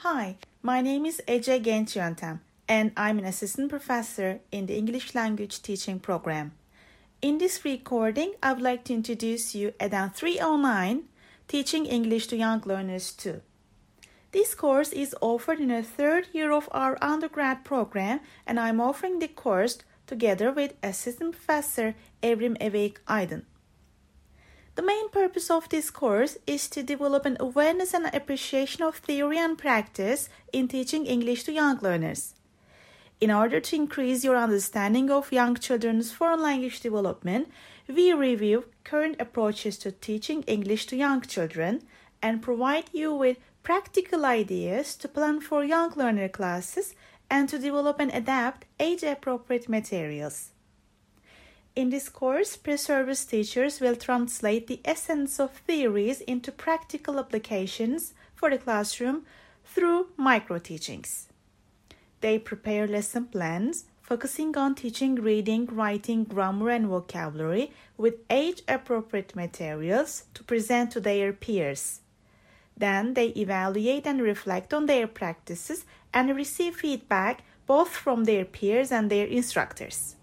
Hi, my name is Ece Genç Yöntem, and I'm an assistant professor in the English language teaching program. In this recording, I would like to introduce you EDEN 309, Teaching English to Young Learners 2. This course is offered in the third year of our undergrad program, and I'm offering the course together with Assistant Professor Evrim Eveyik Aydın. The main purpose of this course is to develop an awareness and appreciation of theory and practice in teaching English to young learners. In order to increase your understanding of young children's foreign language development, we review current approaches to teaching English to young children and provide you with practical ideas to plan for young learner classes and to develop and adapt age-appropriate materials. In this course, pre-service teachers will translate the essence of theories into practical applications for the classroom through micro-teachings. They prepare lesson plans, focusing on teaching reading, writing, grammar, and vocabulary with age-appropriate materials to present to their peers. Then they evaluate and reflect on their practices and receive feedback both from their peers and their instructors.